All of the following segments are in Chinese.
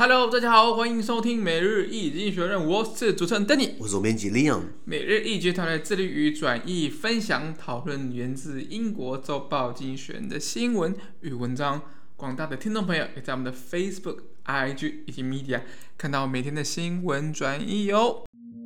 Hello， 大家好，歡迎收聽每日一經濟學人，我是主持人 Danny， 我是總編輯 Leon。 每日一經濟團隊致力於轉譯、分享、討論源自英國週報經濟學人的新聞與文章。廣大的聽眾朋友也在我們的 Facebook、IG 以及 Media 看到每天的新聞轉譯哦。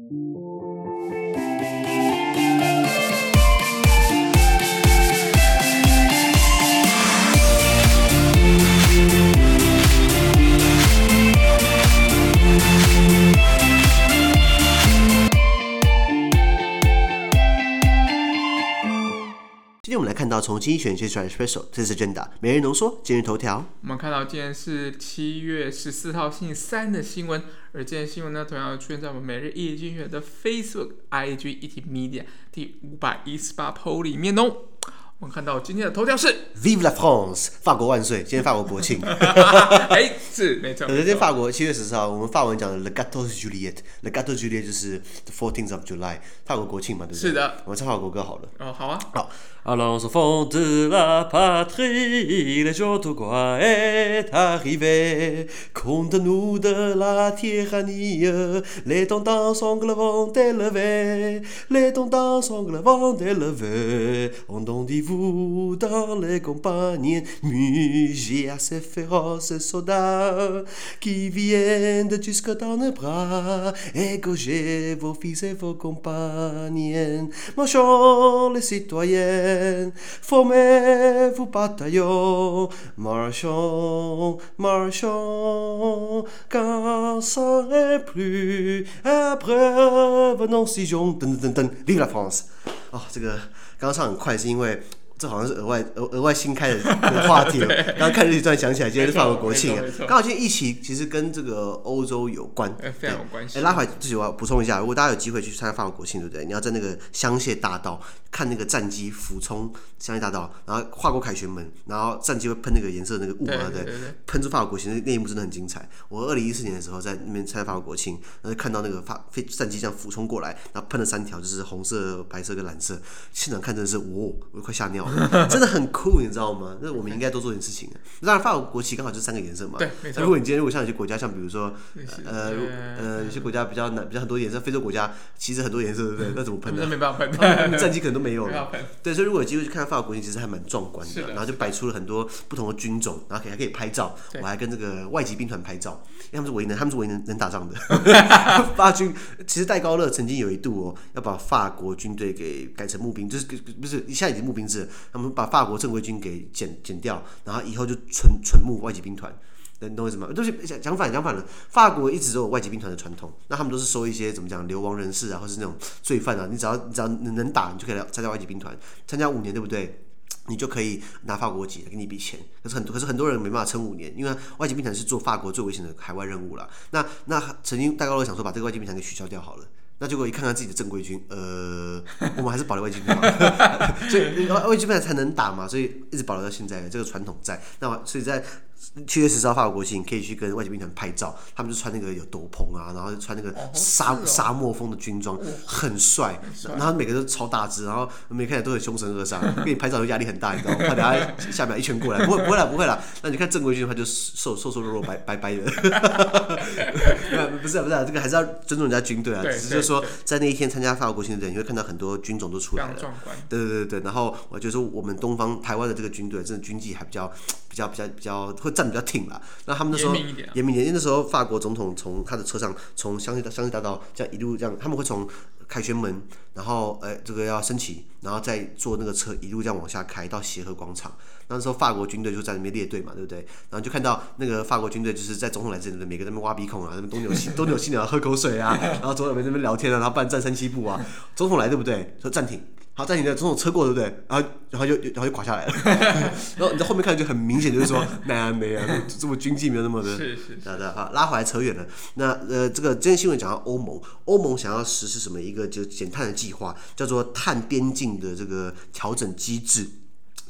今天我們來看到從經濟學人寫出來的 Special， 這是 Agenda 每日濃縮今日頭條。 我們看到今天是7月14號星期三的新聞，而這件新聞呢，同樣出現在我們每日一經濟學人的 Facebook、IG 以及 Media 第518 po 裡面哦。我們看到今天的頭條是 Vive la France， 法國萬歲！今天法國國慶。 是沒錯。 今天法國7月14號，我們法文講的 Le 14 Juillet，Le 14 Juillet 就是 the 14th of July， 法國國慶嘛，對不對？ 是的。 我們唱法國歌好了。 哦，好啊。 好。Allons enfants de la patrie, le jour de gloire est arrivé. Contre-nous de la tyrannie, les tendons sangles vont élever. Les tendons sangles vont élever. Entendez-vous dans les campagnes muger à ces féroces soldats qui viennent jusque dans nos bras, égorger vos fils et vos compagnes. Marchons les citoyens.Formez-vous bataillons, marchons, marchons, car ça n'est plus après venons-y-jon， 等等等等 ，Vive la France！ 哦，這個剛剛唱很快，是因為這好像是額外新開的話題。剛剛看日記突然想起來，今天是法國國慶啊。剛好今天疫情其實跟這個歐洲有關， 非常有關係。 拉回來自己我要補充一下，如果大家有機會去參加法國國慶，對不對？你要在那個香榭大道看那個戰機俯衝香榭大道，然後跨過凱旋門，然後戰機會噴那個顏色的那個霧嘛，對，噴出法國國慶，那一幕真的很精彩。我2014年的時候在那邊參加法國國慶，然後看到那個戰機這樣俯衝過來，然後噴了3條，就是紅色、白色跟藍色，現場看真的是我快嚇尿了。真的很酷，你知道嗎？那我們應該多做點事情。當然，法國國旗剛好就是3個顏色嘛。 對，沒錯。 如果像有些國家，像比如說有些國家比較很多顏色，非洲國家其實很多顏色，对不對？那怎麼噴呢？ 那沒辦法噴， 戰機可能都沒有了。對，所以如果有機會去看法國國旗，其實還蠻壯觀的。然後就擺出了很多不同的軍種，然後還可以拍照。我還跟這個外籍兵團拍照，因為他們是唯一能打仗的。法軍其實戴高樂曾經有一度要把法國軍隊給改成募兵，就是不是現在已經募兵制了，他們把法國正規軍給剪掉，然後以後就純募外籍兵團，你懂我意思嗎？就是講反了，法國一直都有外籍兵團的傳統，那他們都是收一些怎麼講流亡人士啊，或是那種罪犯啊，你只要能打，你就可以來參加外籍兵團，參加5年，對不對？你就可以拿法國籍，給你一筆錢。可是很多人沒辦法撐5年，因為外籍兵團是做法國最危險的海外任務啦。那曾經戴高樂想說把這個外籍兵團給取消掉好了。那結果一看看自己的正規軍，我們還是保留外籍兵團，所以外籍兵团才能打嘛，所以一直保留到現在，這個傳統在。那所以在7月10號法國國慶，你可以去跟外籍兵团拍照，他們就穿那個有斗篷啊，然後穿那個沙漠風的軍裝，很帥。然後每個都超大只，然後每個看起來都很凶神惡煞，跟你拍照就壓力很大，你知道嗎？怕等下下面一拳過來，不會啦。那你看正規軍的話就瘦肉白白的，不是，這個還是要尊重人家軍隊啊。只是就是說在那一天參加法國國慶的人，你會看到很多軍種都出來了，非常壯觀。對。然後我覺得說我們東方台灣的這個軍隊，真的軍紀還比較會站比較挺啦。那他們那時候嚴明點，因為那時候法國總統從他的車上從香榭大道這樣一路這樣，他們會從凱旋門，然後這個要升旗，然後再坐那個車一路這樣往下開到協和廣場。那時候法國軍隊就在那邊列隊嘛，對不對？然後就看到那個法國軍隊就是在總統來之前，每個在那邊挖鼻孔啊，那邊東扭西扭喝口水啊，然後總統在那邊聊天啊，然後辦站3-7步啊。總統來對不對？說暫停。好，暫停的總統車過對不對？然後就垮下來了。然後你在後面看就很明顯，就是說沒啊，這麼軍紀沒有那麼的。是。好，拉回來扯遠了。那這個今天新聞講到歐盟想要實施什麼一個就減碳的計劃，叫做碳邊境的這個調整機制。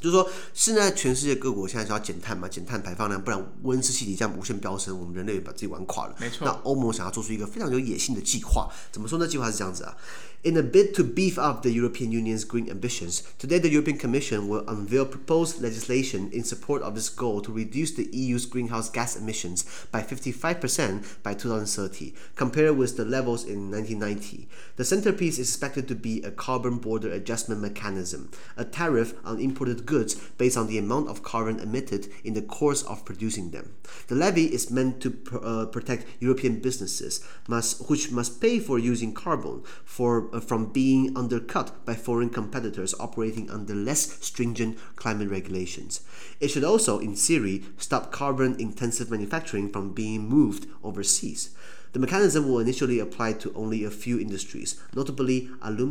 就是說，現在全世界各國現在是要減碳嘛，減碳排放量，不然溫室氣體這樣無限飆升，我們人類把自己玩垮了。 沒錯。 那歐盟想要做出一個非常有野性的計劃，怎麼說呢？計劃是這樣子啊。In a bid to beef up the European Union's green ambitions, today the European Commission will unveil proposed legislation in support of this goal to reduce the EU's greenhouse gas emissions by 55% by 2030, compared with the levels in 1990. The centerpiece is expected to be a carbon border adjustment mechanism, a tariff on imported goods based on the amount of carbon emitted in the course of producing them. The levy is meant to protect European businesses, which must pay for using carbon from being undercut by foreign competitors operating under less stringent climate regulations. It should also, in theory, stop carbon-intensive manufacturing from being moved overseas. The mechanism will initially apply to only a few industries, notably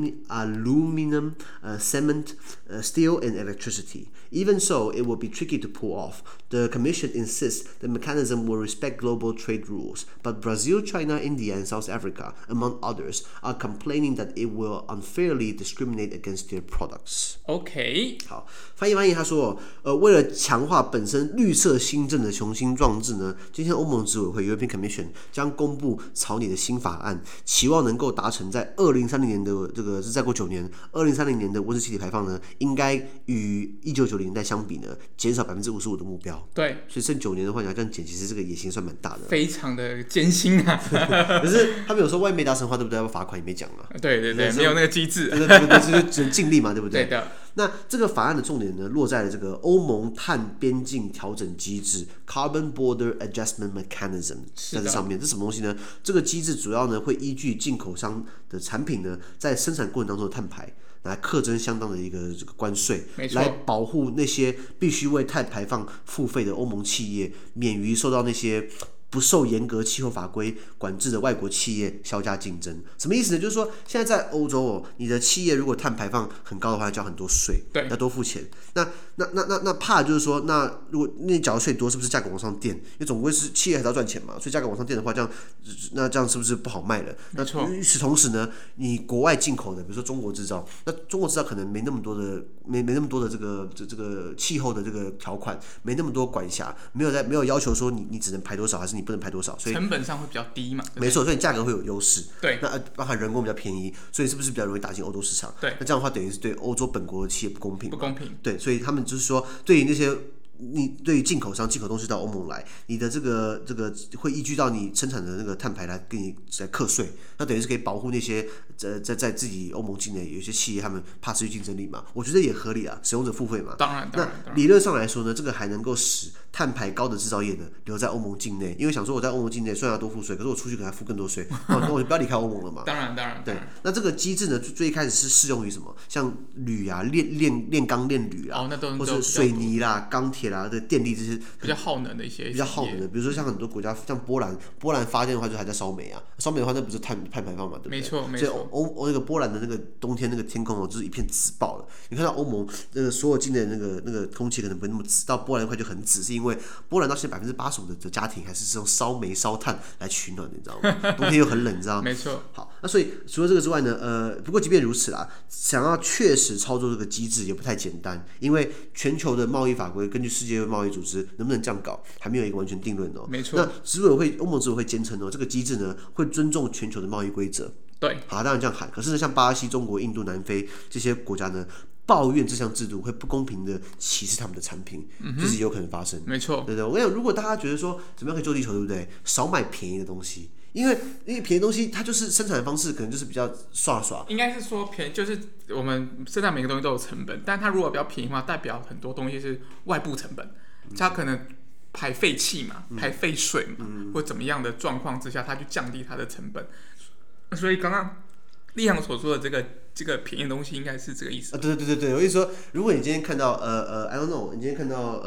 aluminum, cement, steel, and electricity. Even so, it will be tricky to pull off. The Commission insists the mechanism will respect global trade rules, but Brazil, China, India, and South Africa, among others, are complaining that it will unfairly discriminate against their products. OK， 好，翻譯他說，為了強化本身綠色新政的雄心壯志呢，今天歐盟執委會 European Commission 將公布草擬的新法案，期望能夠達成在2030年的這個是再過9年，2030年的溫室氣體排放呢，應該與1990年代相比呢，減少55%的目標。對，所以剩9年的話，你要這樣減，其實這個野心算蠻大的，非常的艱辛啊。可是他們有說萬一沒達成的話，對不對？要罰款也沒講啊。對對對，沒有那個機制，對，就只能盡力嘛，對不對？對的。那這個法案的重點呢，落在了這個歐盟碳邊境調整機制 （Carbon Border Adjustment Mechanism） 在這上面。這是什麼東西呢？這個機制主要呢會依據進口商的產品呢，在生產過程當中的碳排，來課徵相當的一個這個關稅，來保護那些必須為碳排放付費的歐盟企業，免於受到那些不受嚴格氣候法規管制的外國企業削價競爭。什麼意思呢？就是說，現在在歐洲你的企業如果碳排放很高的話，要交很多稅，要多付錢。那怕就是說，那如果你繳的稅多，是不是價格往上墊？因為總歸是企業還是要賺錢嘛，所以價格往上墊的話，這樣是不是不好賣了？那與此同時呢，你國外進口的，比如說中國製造，那中國製造可能沒那麼多的這個氣候的這個條款，沒那麼多管轄，沒有要求說你只能排多少，還是你不能排多少，所以成本上會比較低嘛。沒錯，所以價格會有優勢。對，那包含人工比較便宜，所以是不是比較容易打進歐洲市場？對，那這樣的話等於是對歐洲本國的企業不公平。不公平。對，所以他們就是說，對於那些對於进口商进口東西到歐盟來，你的這個會依據到你生產的那個碳排來給你來課稅，那等於是可以保護那些在自己歐盟境內有些企業他們怕失去競爭力嘛，我覺得也合理啊，使用者付費嘛。當然。那理論上來說呢，這個還能夠使碳排高的製造業呢留在歐盟境內，因為想說我在歐盟境內雖然要多付稅，可是我出去可能還付更多稅，那我就不要離開歐盟了嘛。當然。對，那這個機制呢，最一開始是適用於什麼？像鋁啊、煉鋼、煉鋁啊，或者水泥啦、鋼鐵啦、電力這些比較耗能的一些比較耗能的，比如說像很多國家，像波蘭發電的話就還在燒煤啊，燒煤的話那不是碳排放嘛，對不對？沒錯。所以那個波蘭的那個冬天那個天空就是一片紫爆了。你看到歐盟所有境內的那個空氣可能不會那麼紫，到波蘭那塊就很紫，是因為波蘭到現在85%的家庭還是用燒煤燒炭來取暖的，你知道嗎？冬天又很冷，你知道嗎？沒錯。好，那所以除了這個之外呢，不過即便如此啦，想要確實操作這個機制也不太簡單，因為全球的貿易法規根據世界貿易組織能不能這樣搞，還沒有一個完全定論哦。沒錯。那歐盟執委會堅稱這個機制呢會尊重全球的貿易規則。對。好，當然這樣喊，可是呢，像巴西、中國、印度、南非這些國家呢，抱怨這項制度會不公平的歧視他們的產品，這是有可能發生。沒錯。對。我跟你講，如果大家覺得說怎麼樣可以救地球，對不對？少買便宜的東西。因為便宜的東西，它就是生產的方式，可能就是比較耍。應該是說便宜，就是我們生產每個東西都有成本，但它如果比較便宜的話，代表很多東西是外部成本，它可能排廢氣嘛，排廢水嘛，或怎麼樣的狀況之下，它去降低它的成本。所以剛剛立航所說的這個便宜的東西，應該是這個意思。對，我意思說，如果你今天看到I don't know， 你今天看到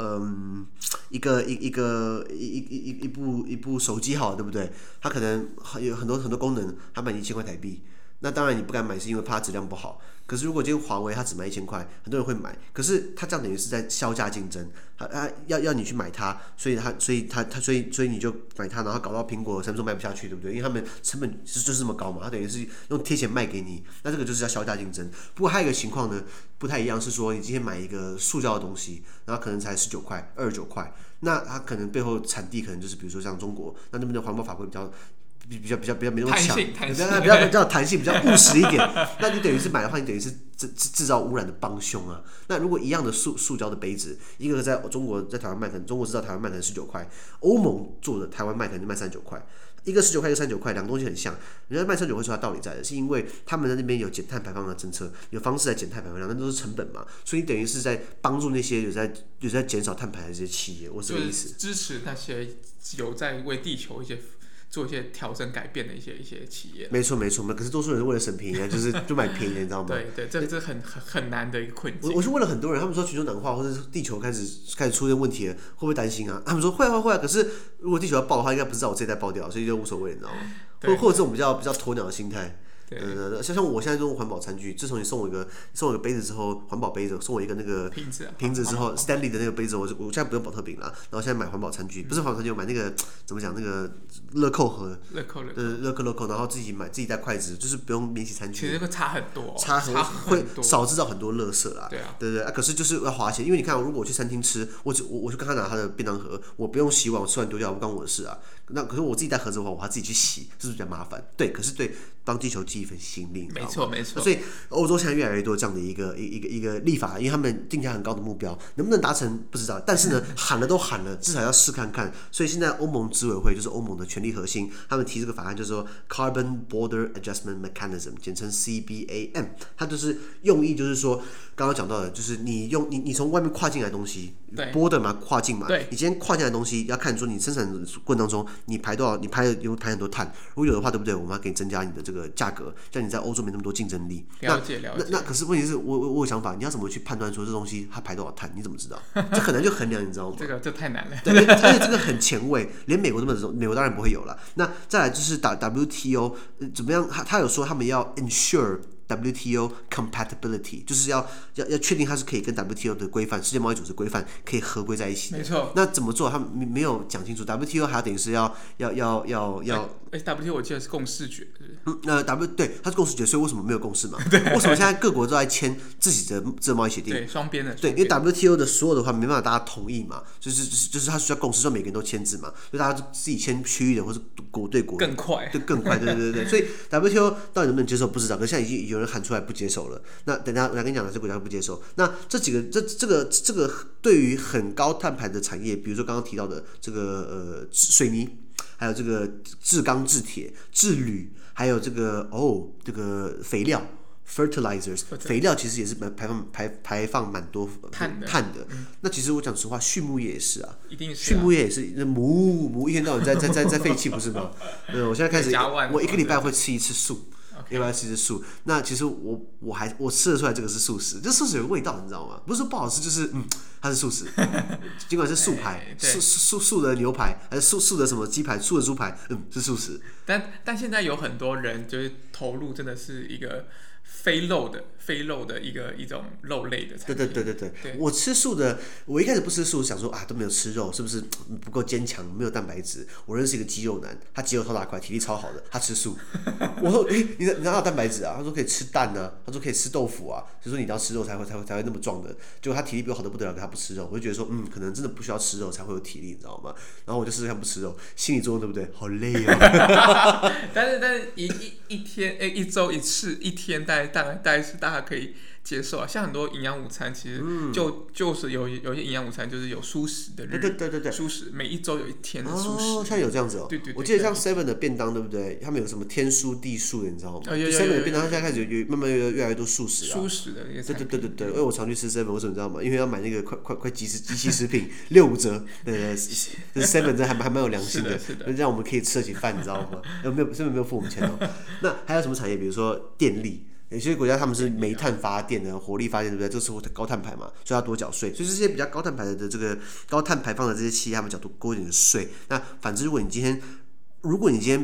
一部手機好了，對不對？它可能有很多功能，它賣1000塊台幣。 那當然你不敢買是因為怕它質量不好。可是如果今天華為它只賣1000塊，很多人會買，可是它這樣等於是在削價競爭，它要你去買它，所以你就買它，然後搞到蘋果、Samsung 賣不下去，對不对？因為他們成本就是這麼高嘛，它等於是用貼錢賣給你，那這個就是要削價競爭。不過還有一個情況呢，不太一樣，是說你今天買一個塑膠的東西，然後可能才19塊、29塊，那它可能背後產地可能就是比如說像中國，那邊的環保法規比較沒那麼強，比較彈性，比較務實一點。那你等於是買的話，你等於是制造污染的幫兇啊。那如果一樣的塑膠的杯子，一個在中國在台灣賣，可能中國制造台灣賣可能19塊，歐盟做的台灣賣可能就賣39塊。一個19塊，一個39塊，兩個東西很像。人家賣39塊是它道理在的，是因為他們在那邊有減碳排放的政策，有方式來減碳排放量，那都是成本嘛。所以你等於是在幫助那些有在減少碳排的這些企業，我是這個意思。 就是支持那些有在為地球做一些調整改變的一些企業。沒錯，可是多數人是為了省便宜，就買便宜的，你知道嗎？ 对，这很难的一個困境。 我是問了很多人，他們說全球暖化或者地球開始出現問題了，會不會擔心啊？他們說會啊，可是如果地球要爆的話，應該不是在我這一代爆掉，所以就無所謂，你知道嗎？或者這種比較鴕鳥的心態。像我現在用環保餐具，自從你送我一個杯子之後，環保杯子送我一個那個瓶子之後 ，Stanley 的那個杯子，我現在不用保特瓶了，然後現在買環保餐具，不是環保餐具，我買那個怎麼講那個樂扣盒，樂扣，然後自己帶筷子，就是不用免洗餐具。 其實會差很多， 會少制造很多垃圾啦。對啊，可是就是要花錢，因為你看，如果我去餐廳吃，我就跟他拿他的便當盒，我不用洗碗，我吃完丢掉，不關我的事啊。那可是我自己带盒子的話，我還自己去洗，是不是比較麻煩？对，可是对幫地球盡一份心力， 沒錯。 所以歐洲現在越來越多這樣的一個立法，因為他們定下很高的目標，能不能達成不知道。但是呢，喊了都喊了，至少要試看看。所以現在歐盟執委會就是歐盟的權力核心，他們提這個法案就是說 Carbon Border Adjustment Mechanism， 簡稱 CBAM， 它就是用意就是說，剛剛講到的，就是你從外面跨進來的東西 ，border 嘛，跨境嘛，你今天跨進來的東西要看說你生產的過程當中你排多少，你排很多碳，如果有的話，对不對？我們要給你增加你的這個價格，像你在歐洲沒那麼多競爭力。 了解。 那可是問題是我有想法，你要怎麼去判斷說這東西它排多少碳？你怎麼知道？這很難去衡量，你知道嗎？ 這太難了。 對，而且這個很前衛，連美國都沒有，美國當然不會有了。那再來就是 WTO 怎麼樣？他有說他們要 ensure WTO compatibility， 就是要確定它是可以跟 WTO 的規範、世界貿易組織規範可以合規在一起的。 沒錯。 那怎麼做？他們沒有講清楚。WTO 還要等於是要。 WTO 我記得是共識決。 對，它是共識決，所以為什麼沒有共識嘛？為什麼現在各國都在簽自己的這貿易協定？ 對，雙邊的。 对，因為 WTO 的所有的話沒辦法大家同意嘛，就是它需要共識，所以每個人都簽字嘛，所以大家自己簽区域的或是國對國更快， 更快，对。所以 WTO 到底能不能接受不知道，可是現在已經有人喊出來不接受了。那等下我跟你講哪些國家不接受？那這幾個這個對於很高碳排的產業，比如說剛剛提到的這個水泥。還有這個制鋼、制鐵、制鋁，還有這個肥料 fertilizers， 肥料其實也是排放蠻多碳的。那其實我講實話，畜牧業也是啊， 一定是畜牧業也是，母一天到晚在廢氣，不是嗎？我現在開始，我一個禮拜會吃一次素。要不要吃素？那其實我吃得出來這個是素食，這素食有個味道，你知道嗎？不是說不好吃，就是它是素食。儘管是素排，素的牛排，還是素的什麼雞排，素的豬排，是素食。 但現在有很多人就是投入，真的是一個非肉的一種肉類的產品。 對。我吃素的，我一開始不吃素，想說都沒有吃肉，是不是不夠堅強，沒有蛋白質？我認識一個肌肉男，他肌肉超大塊，體力超好的，他吃素。我說，你哪有蛋白質啊？他說可以吃蛋啊，他說可以吃豆腐啊，就說你要吃肉才會那麼壯的。結果他體力比我好的不得了，可他不吃肉，我就覺得說，可能真的不需要吃肉才會有體力，你知道嗎？然後我就試試看不吃肉，心理作用對不對？好累啊！ 但是一天一周一次，一天大概是大家可以接受啊。像很多營養午餐，其實就是有些營養午餐就是有蔬食的日，對，蔬食每一周有一天的蔬食。 现在有這樣子哦。 对。 我記得像 Seven 的便當，對不對？他們有什麼天蔬地素的，你知道嗎？Seven 的便當，現在開始慢慢越來越多素食啊。 蔬食的那個。 對，因為我常去吃 Seven， 為什麼你知道嗎？因為要買那個快即期食品65折，對 ，Seven 這還蠻有良心的，這樣我們可以吃得起飯，你知道嗎？Seven 沒有付我們錢哦。那還有什麼產業？比如說電力。有些國家他們是煤炭發電的，火力發電，對不對？這是高碳排嘛，所以要多繳稅。所以這些比較高碳排的這個高碳排放的這些企業，他們繳多一點的稅。那反之，如果你今天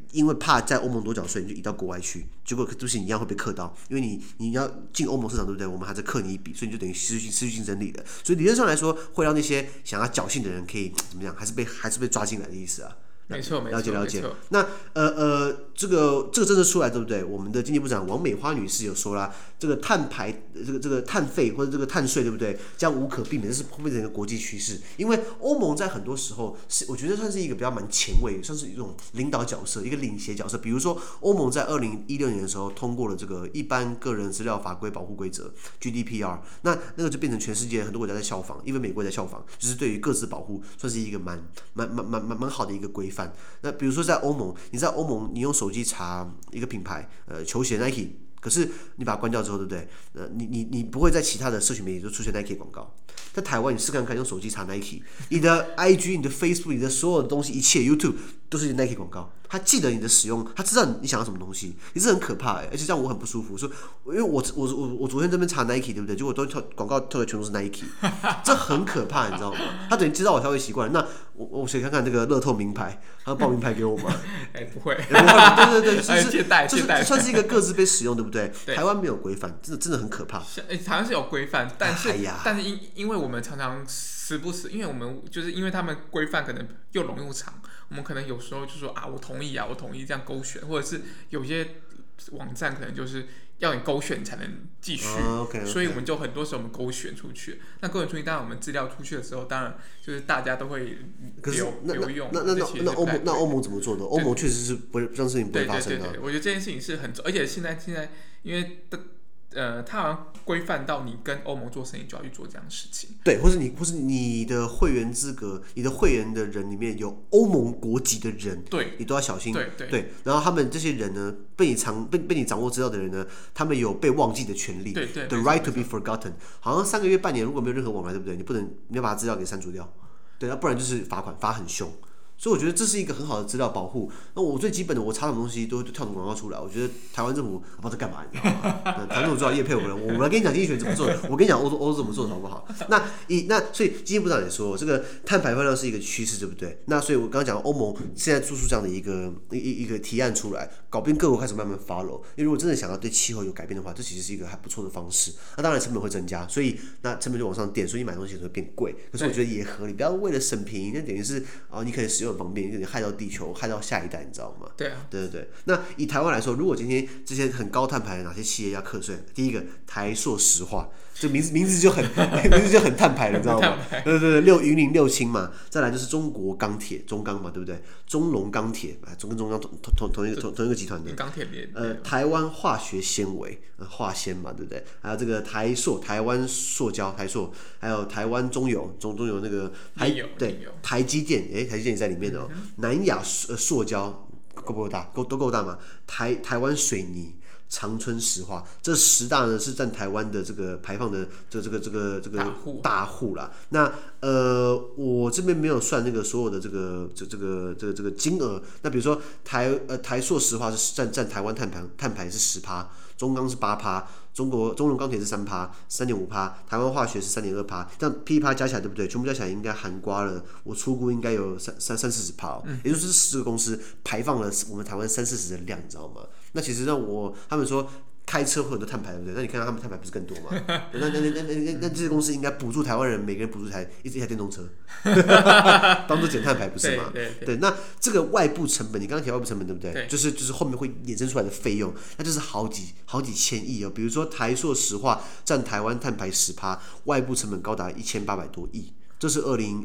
因為怕在歐盟多繳稅，你就移到國外去，結果就是你一樣會被課到，因為你要進歐盟市場，對不對？我們還在課你一筆，所以你就等於失去競爭力了。所以理論上來說，會讓那些想要僥倖的人可以怎麼樣，還是被抓進來的意思啊。 沒錯， 了解。那這個政策出來，對不對？我們的經濟部長王美花女士有說啦，這個碳排這個碳費或者這個碳稅，對不對？將無可避免，這是會變成一個國際趨勢。因為歐盟在很多時候是我覺得算是一個比較蠻前衛，算是一種領導角色，一個領銜角色。比如說，歐盟在2016年的時候通過了這個一般個人資料法規保護規則 GDPR， 那個就變成全世界很多國家在效仿，因為美國在效仿，就是對於個資保護算是一個蠻好的一個規範。那比如說在歐盟，你在歐盟你用手機查一個品牌，球鞋 Nike， 可是你把它關掉之後，对不對？你不會在其他的社群媒體就出現 Nike 廣告。在台灣，你試看看用手機查 Nike， 你的 IG、你的 Facebook、你的所有的東西，一切 YouTube 都是 Nike 廣告。他記得你的使用，他知道你想要什麼東西，你是很可怕而且這樣我很不舒服。說，因為我昨天這邊查 Nike， 对不对？結果都廣告跳的全都是 Nike， 這很可怕，你知道嗎？他等於知道我消費習慣，那我先看看這個樂透名牌，他報名牌給我嗎？ 不會， 對， 借貸， 這算是一個個資被使用，對不对？台灣沒有規範，真的很可怕。 台灣是有規範，但是因為我們常常時不時，因為我們就是因為他们規範可能又濃又長，我們可能有時候就說啊，我同意這樣勾選，或者是有些網站可能就是要你勾選才能繼續， okay. 所以我們就很多時候我們勾選出去。那勾選出去，當然我們資料出去的時候，當然就是大家都會留用。 那歐盟怎麼做的？歐盟確實是不會這樣事情不會發生的。 對，我覺得這件事情是很，而且現在因為它好像規範到你跟歐盟做生意就要去做這樣的事情。對， 或是你的會員資格，你的會員的人裡面有歐盟國籍的人， 对， 你都要小心。 对。 然後他們這些人呢，被你掌握資料的人呢，他們有被忘記的權利。 对。 The right to be forgotten。好像3個月、半年，如果沒有任何往來，對不對？你要把資料給刪除掉。對，不然就是罰款，罰很凶。所以我覺得這是一個很好的資料保護。那我最基本的，我查什麼東西都跳什麼廣告出來。我覺得台灣政府不知道在幹嘛，你知道嗎？台灣政府知道業配我們，我來跟你講經濟學怎麼做，我跟你講歐洲怎麼做的好不好？那所以經濟部長也說，這個碳排放量是一個趨勢，對不對？那所以我剛剛講歐盟現在做出這樣的一個提案出來，搞不定各國開始慢慢 follow。因為如果真的想要對氣候有改變的話，這其實是一個還不錯的方式。那當然成本會增加，所以那成本就往上墊，所以你買東西會變貴。可是我覺得也合理，不要為了省便宜，那等於是你可以使用很方便，你害到地球，害到下一代，你知道嗎？ 对啊， 对。那以台灣來說，如果今天這些很高碳排的哪些企業要課稅？第一個台塑石化，這名字就很碳排了，你知道嗎？對，雲林六輕嘛，再來就是中國鋼鐵，中鋼嘛，對不對？中龍鋼鐵，跟中鋼同一個集團的。 鋼鐵台灣化學纖維，化纖嘛，對不對？還有這個台塑，台灣塑膠，台塑，還有台灣中油，中油那個台積電，台積電也在裡面哦。南亞塑膠夠不夠大？都夠大嘛？台灣水泥、長春石化，這10大呢是佔台灣的這個排放的這個大戶啦。那我這邊沒有算那個所有的這個金額。那比如說台塑石化是佔台灣碳排是10%，中鋼是8%，中龍鋼鐵是3%、3.5%，台灣化學是3.2%，這樣噼啪加起來，對不对？全部加起來應該含括了，我初估應該有30-40%哦。也就是10個公司排放了我們台灣30-40%的量，你知道嗎？那其實他們說開車會有很多碳排，對不對？那你看他們碳排不是更多嗎？那這些公司應該補助台灣人，每個人補助一台電動車，當做減碳排，不是嗎？對。那這個外部成本，你剛剛提外部成本，對不對？就是後面會衍生出來的費用，那就是好幾千億哦。比如說台塑石化佔台灣碳排10%，外部成本高達1800多億，這是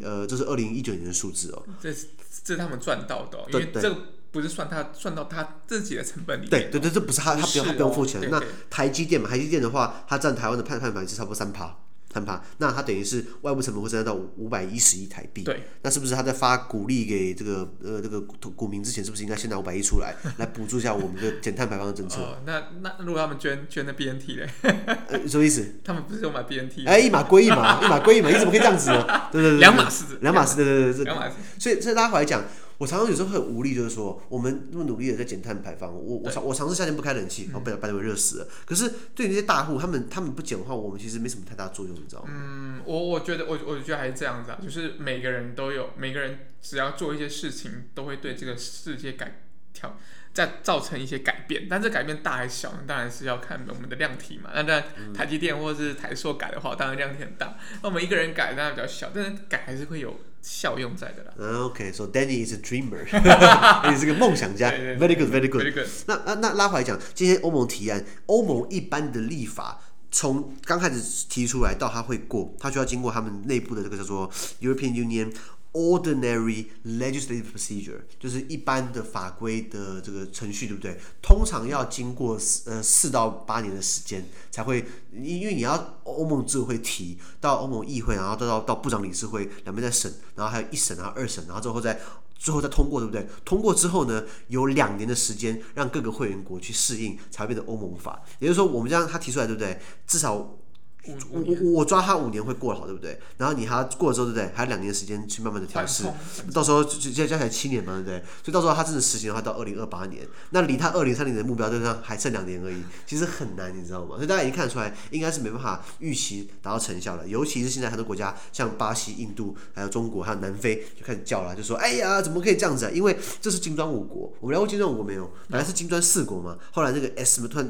2019年的數字哦。這是他們賺到的哦，因為這個不是算到他自己的成本裡面。 對，這不是他不用付錢。那台積電嘛，台積電的話，它佔台灣的碳排是差不多3%。那它等於是外部成本會增加到510億台幣。 對， 那是不是他在發鼓勵給這個股民之前，是不是應該先拿500億出來補助一下我們的減碳排放的政策？ 那如果他們捐的 BNT 嘞？ 什麼意思？ 他們不是有買 BNT？ 一碼歸一碼，一碼歸一碼，你怎麼可以這樣子呢？對， 兩碼事， 對，所以大家回來講。我常常有時候很無力，就是說我們那麼努力的在減碳排放，我嘗試夏天不開冷氣，然後被熱死了。可是對於那些大戶，他們不減的話，我們其實沒什麼太大作用，你知道嗎？ 我覺得還是這樣子啊，就是每個人只要做一些事情，都會對這個世界再造成一些改變，但這改變大還是小呢？當然是要看我們的量體嘛。那當然，台積電或者是台塑改的話，當然量體很大。那我們一個人改當然比較小，但是改還是會有效用在的啦。 OK，so Danny is a dreamer， 你是個夢想家。Very good，very good。那拉回來講，今天歐盟提案，歐盟一般的立法。從剛開始提出來到它會過，它就要經過他們內部的這個叫做 European Union Ordinary Legislative Procedure， 就是一般的法規的這個程序，對不對？通常要經過4到8年的時間才會，因為你要歐盟執委會提到歐盟議會，然後到部長理事會兩邊再審，然後還有1審，然後2審，然後最後再通過，对不对？通過之後呢，有2年的時間讓各個會員國去適應，才會變成歐盟法。也就是說，我們這樣他提出來，對不對？至少我抓他5年會過好，對不對？然後你還過了之後，對不对？還有2年的時間去慢慢的調試，到時候加起來7年嘛，對不對？所以到時候他真的實行的話，到2028年，那離他2030的目標就是還剩2年而已，其實很難，你知道嗎？所以大家已經看得出來，應該是沒辦法預期達到成效了。尤其是現在很多國家，像巴西、印度、還有中國、還有南非，就開始叫了，就說：“哎呀，怎麼可以這樣子啊？因為這是金磚5國，我們聊過金磚5國沒有？本來是金磚4國嘛，後來那個 S 突然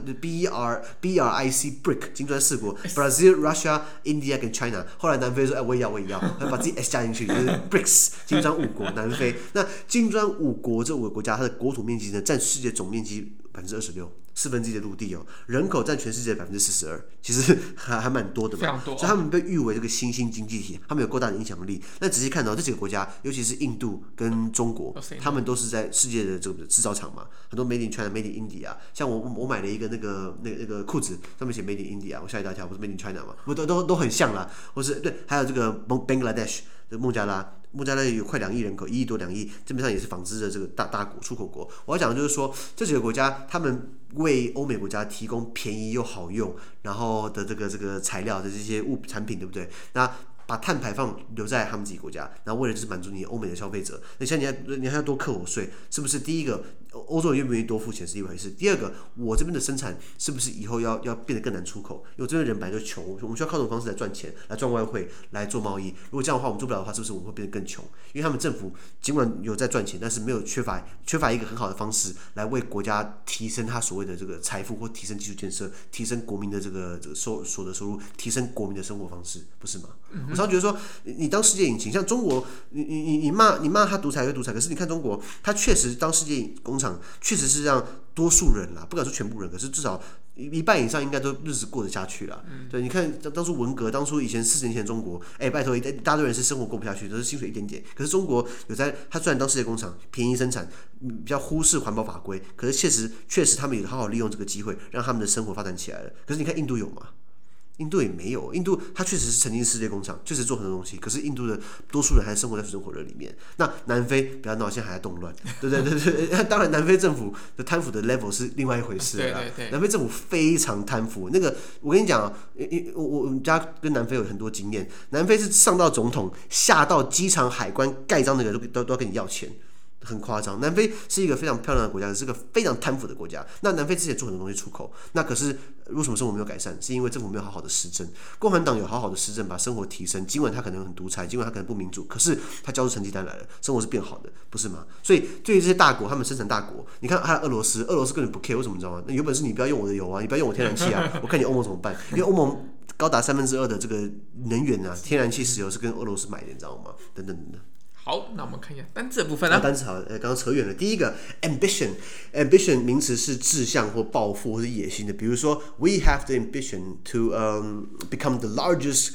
BRIC BRIC 金磚4國 Brazil、Russia、India 跟 China， 後來南非說：“哎，我也要，他把自己 S 加進去，就是 BRICS 金磚5國，南非。那金磚5國這5個國家，它的國土面積呢，佔世界總面積26%。1/4的陸地哦，人口佔全世界42%，其實還蠻多的嘛，非常多。所以他們被譽為這個新興經濟體，他們有夠大的影響力。那仔細看到這幾個國家，尤其是印度跟中國，他們都是在世界的這個製造廠嘛，很多 Made in China、Made in India。像我買了一個那個褲子，上面寫 Made in India， 我嚇一大跳，不是 Made in China 嘛，都很像啦。或是對，還有這個 Bangladesh 的孟加拉有快2億人口，1億多2億，基本上也是紡織的這個大國出口國。我要講的就是說，這幾個國家他們為歐美國家提供便宜又好用，然後的這個材料的這些產品，對不對？那把碳排放留在他們自己國家，然後為了就是滿足你歐美的消費者，那像你還要多課我稅，是不是？第一個，歐洲人願不願意多付錢是一回事，第二個，我這邊的生產是不是以後要变得更難出口？因為我這邊人本來就窮，我們需要靠這種方式來賺錢，来賺外匯，來做貿易。如果這樣的話，我們做不了的話，是不是我們會變得更窮？因為他們政府儘管有在賺錢，但是沒有缺乏一個很好的方式來為國家提升他所謂的這個財富，或提升基礎建設，提升國民的這個所得收入，提升國民的生活方式，不是嗎？我常覺得說，你當世界引擎，像中國，你罵他獨裁，可是你看中國，他確實當世界工廠，確實是讓多數人啦，不敢說全部人，可是至少1半以上應該都日子過得下去啦。對，你看當初文革，當初以前40年前的中國，拜托一大堆人是生活過不下去，都是薪水一點點。可是中國他雖然當世界工廠，便宜生產，比較忽視環保法規，可是確實他們也好好利用這個機會，讓他們的生活發展起來了。可是你看印度有嗎？印度也沒有，印度它確實是曾經世界工廠，確實做很多東西，可是印度的多數人還是生活在水深火熱裡面。那南非不要鬧，現在還在動亂，對對。當然，南非政府的貪腐的 level 是另外一回事啦。對。南非政府非常貪腐，那個我跟你講啊，我們家跟南非有很多經驗，南非是上到總統，下到機場海關蓋章的人都要跟你要錢。很誇張，南非是一個非常漂亮的國家，是個非常貪腐的國家。那南非之前做很多東西出口，那可是為什麼生活沒有改善？是因為政府沒有好好的施政。共產黨有好好的施政，把生活提升，儘管他可能很獨裁，儘管他可能不民主，可是他交出成績單來了，生活是变好的，不是嗎？所以对於這些大國，他們生產大國，你看還有俄羅斯根本不 care， 為什麼你知道嗎？那有本事你不要用我的油啊，你不要用我天然氣啊，我看你歐盟怎麼辦？因為歐盟高達2/3的這個能源啊，天然氣、石油是跟俄羅斯買的，你知道嗎？等等。 好，那我們看一下單字的部分啊。 单詞好，剛剛扯遠了。第一個 ambition 名詞是志向或抱負或是野心的。比如說 ，we have the ambition to become the largest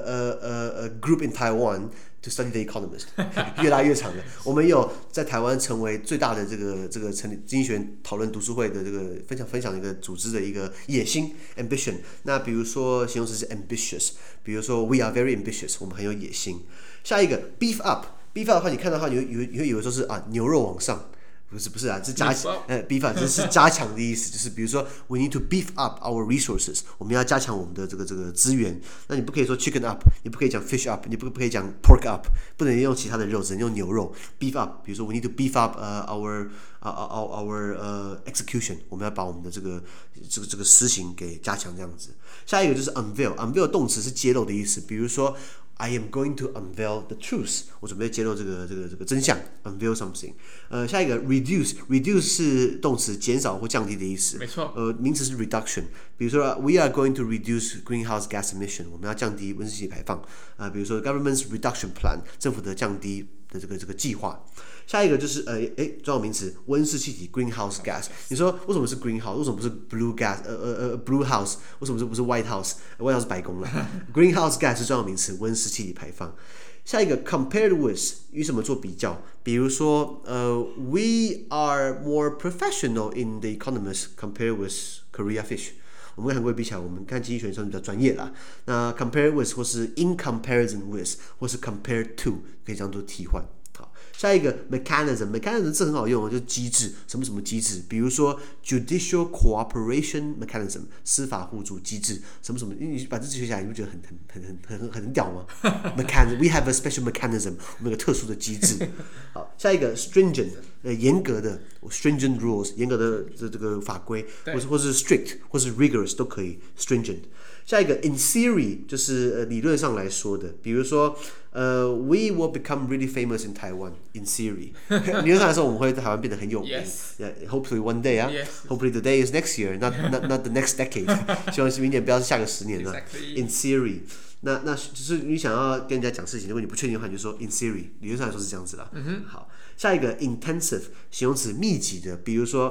group in Taiwan to study the Economist 。越拉越長了。我們有在台灣成為最大的這個成立經濟學人討論讀書會的這個分享一個組織的一個野心 ambition。那比如說形容詞是 ambitious， 比如說 we are very ambitious， 我們很有野心。下一個 beef up。beef up 的話，你看到的話，你會以為說是牛肉往上，不是啊，是加beef up 這是加強的意思，就是比如說 we need to beef up our resources， 我們要加強我們的這个資源。那你不可以說 chicken up， 你不可以講 fish up， 你不可以講 pork up， 不能用其他的肉，只能用牛肉 beef up。比如說 we need to beef up our our execution， 我们要把我们的这个施行给加強這樣子。下一個就是 unveil 動詞是揭露的意思，比如說 I am going to unveil the truth， 我準備揭露這個真相 ，unveil something。下一個 reduce 是動詞減少或降低的意思， 沒錯。 名詞是 reduction， 比如說 we are going to reduce greenhouse gas emission， 我們要降低溫室氣體排放。比如說 government's reduction plan， 政府的降低的這個計劃。下一個就是專有名詞溫室氣體 greenhouse gas。你說為什麼是 greenhouse？ 為什麼不是 blue gas？ blue house？ 為什麼不是 white house？white house 是白宮了。greenhouse gas 是專有名詞溫室氣體排放。下一個 compared with 與什麼做比較？比如說we are more professional in the economics compared with Korea Fish。我們跟韓國比起來，我們看經濟學算比較專業啦。那 compare with 或是 in comparison with 或是 compared to 可以這樣做替換。好，下一個 mechanism 這很好用，就是機制，什麼機制？比如說 judicial cooperation mechanism 司法互助機制，什麼，你把這學起來，你不覺得很屌嗎？mechanism we have a special mechanism， 我們有個特殊的機制。好，下一個 stringent 嚴格的 stringent rules 嚴格的這個法規，或是 strict 或是 rigorous 都可以 stringent。下一個 in theory 就是理論上來說的，比如說we will become really famous in Taiwan in theory 理論上來說我們會在台灣變得很有名。Hopefully one day Hopefully the day is next year not the next decade 希望是明年不要是下個10年了。In theory 那就是你想要跟人家講事情，如果你不確定的話，你就說 in theory 理論上來說是這樣子啦。好，下一個 intensive 形容詞密集的，比如說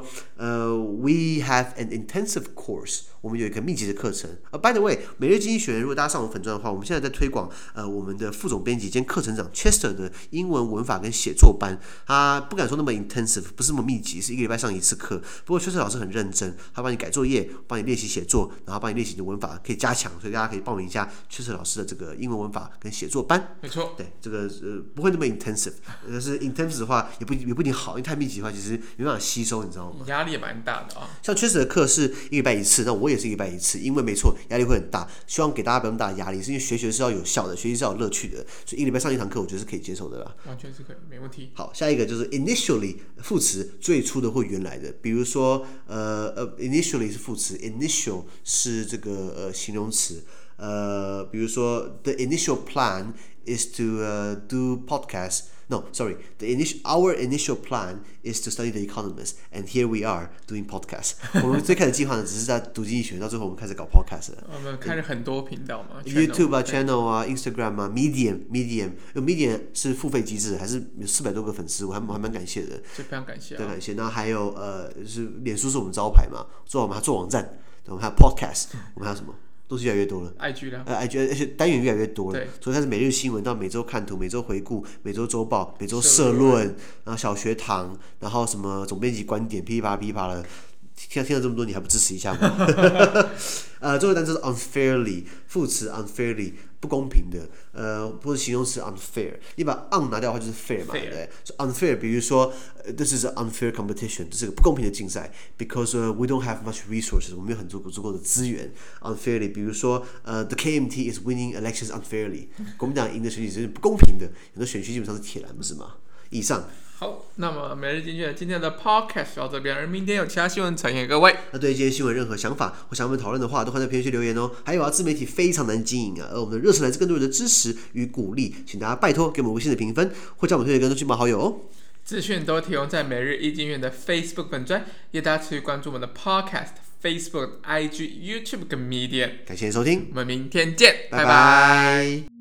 we have an intensive course， 我們有一個密集的課程。By the way， 每日經濟學人如果大家上我們粉專的話，我們現在在推廣我們的副總編輯兼課程長 Chester 的英文文法跟寫作班。他不敢說那麼 intensive， 不是那麼密集，是1個禮拜上1次課。不過 Chester 老師很認真，他幫你改作業，幫你練習寫作，然後幫你練習你的文法可以加強，所以大家可以報名一下 Chester 老師的這個英文文法跟寫作班。 沒錯， 對，這個不會那麼 intensive， 但是 intensive 的話也不一定好，因為太密集的話其實沒辦法吸收，你知道嗎？ 壓力也蠻大的啊。 像 Chester 的課是1個禮拜1次，那我也是1個禮拜1次，因為沒錯，壓力會很大。希望給大家不要那麼大的壓力，是因為學習是要有效的，學習是要有樂趣的，所以1個禮拜上1堂課，我覺得是可以接受的啦。 完全是可以，沒問題。好， 下一個就是 initially 副詞，最初的或原來的，比如說initially 是副詞 ，initial 是這個形容詞。比如說 the initial plan is to do podcast. No, sorry. Our initial plan is to study The Economist, and here we are doing podcast. 我們最開始計劃呢，只是在讀經濟學，到最後我們開始搞 podcast 了。我們開了很多頻道嘛 ，YouTube 啊、channel 啊、Instagram 啊、Medium 是付費機制，還是有400多個粉絲，我還蠻感謝的。就非常感謝，非常感謝。然後還有就是臉書是我們招牌嘛，我們還做網站，我們還有 podcast， 我們還有什麼？東西越來越多了 ，IG 啦，IG 而且單元越來越多了，從開始每日新聞到每周看圖、每周回顧、每周週報、每周社論，然後小學堂，然後什麼總編輯觀點，噼里啪啦的，聽了這麼多，你還不支持一下嗎？最後一個單詞是 unfairly， 副詞 unfairly 不公平的，或者形容詞 unfair， 你把 un 拿掉的話就是 fair 嘛，對不對？所以 unfair， 比如說this is an unfair competition， 這是個不公平的競賽 ，because we don't have much resources， 我們沒有很足夠的資源 ，unfairly， 比如說the KMT is winning elections unfairly， 國民黨贏的選舉是不公平的，很多選區基本上是鐵藍，不是嗎？以上。好，那麼每日經濟學今天的 podcast 到這邊，而明天有其他新聞呈現各位。那對於今天新聞任何想法或想我們討論的話，都歡迎在評論區留言哦。還有啊，自媒體非常難經營啊，而我們的熱忱來自更多人的支持與鼓勵，請大家拜託給我們5星的評分，或將我們推薦更多親朋好友哦。資訊都提供在每日一經濟學的 Facebook 粉專，也大家持續關注我們的 podcast、Facebook、IG、YouTube 跟 Medium。感謝收聽，我們明天見，拜拜。